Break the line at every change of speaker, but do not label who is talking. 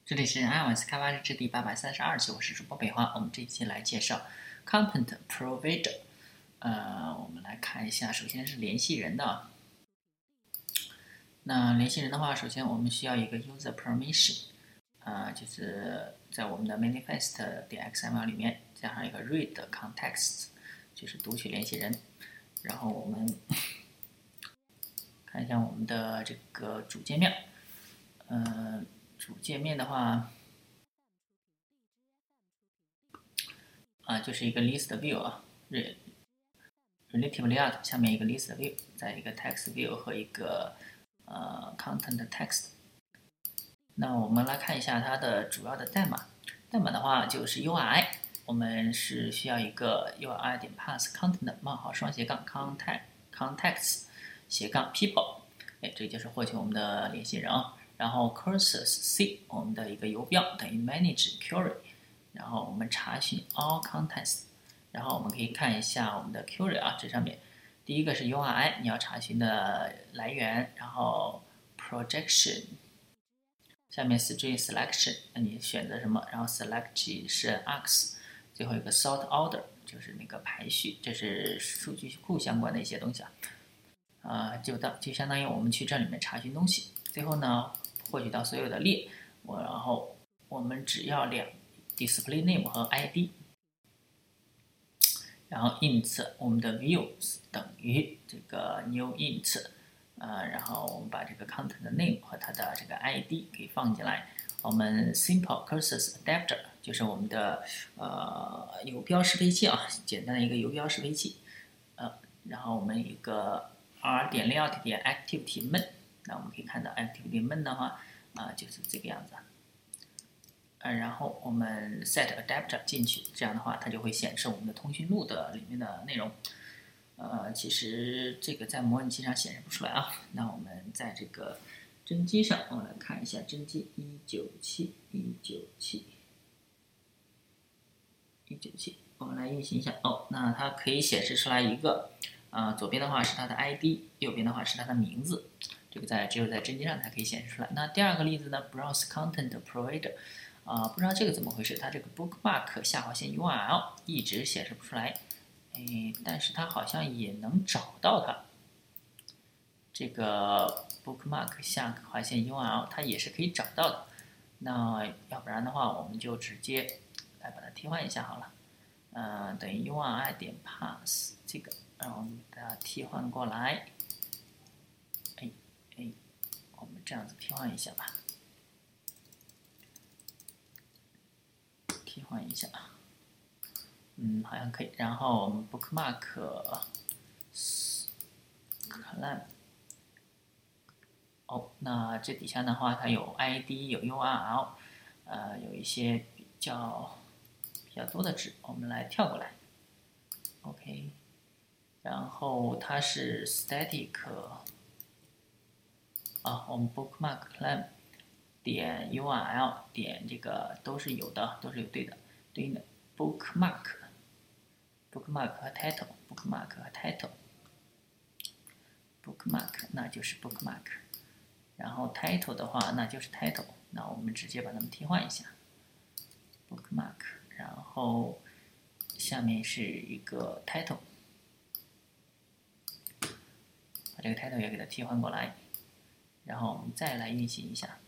这里是 iOS 开发日志第832期，我是主播北华。我们这一期来介绍 Content Provider。我们来看一下，首先是联系人的。那联系人的话，首先我们需要一个 User Permission，就是在我们的 manifest.xml 里面加上一个 read context，就是读取联系人。然后我们看一下我们的这个主界面。主界面的话，就是一个 list view 啊，relative layout 下面一个 list view，再一个 text view 和一个content text。那我们来看一下它的主要的代码。代码的话就是 URI， 我们是需要一个 URI 点 pass content 冒号双斜杠 context 斜杠 people， 这就是获取我们的联系人啊。然后 cursor C 我们的一个游标等于 manage query， 然后我们查询 all contents， 然后我们可以看一下我们的 query 啊，这上面第一个是 URI， 你要查询的来源，然后 projection， 下面 string selection， 那你选择什么？然后 select 是 args， 最后一个 sort order 就是那个排序，这是数据库相关的一些东西就相当于我们去这里面查询东西，最后呢获取到所有的列，然后我们只要display name 和 ID， 然后 int 我们的 views 等于这个 new int， 然后我们把这个 content name 和它的这个 ID 给放进来。我们 simple cursor adapter 就是我们的游标适配器啊，简单的一个游标适配器。然后我们一个 r.layout 点 activity main， 那我们可以看到 activity main 的话就是这个样子。然后我们 set adapter 进去，这样的话它就会显示我们的通讯录的里面的内容。其实这个在模拟器上显示不出来啊。那我们在这个真机上，我们来看一下真机197，我们来运行一下。那它可以显示出来一个，左边的话是它的 ID， 右边的话是它的名字。这个只有在真机上才可以显示出来。那第二个例子呢 ，Browse Content Provider，不知道这个怎么回事，它这个 bookmark 下划线 URL 一直显示不出来，但是它好像也能找到它。这个 bookmark 下划线 URL 它也是可以找到的。那要不然的话，我们就直接来把它替换一下好了。等于 URI 点 pass 这个，然后我们把它替换过来。我们这样子替换一下吧。替换一下，好像可以。然后我们 bookmark clam， 那这底下的话，它有 ID， 有 URL， 有一些比较多的值，我们来跳过来。OK， 然后它是 static， 我们 bookmark clam 点 URL 点这个都是有的，都是有对应的 bookmark 和 title，bookmark 那就是 bookmark， 然后 title 的话那就是 title， 那我们直接把它们替换一下 bookmark， 然后下面是一个 title， 把这个 title 也给它替换过来，然后我们再来运行一下。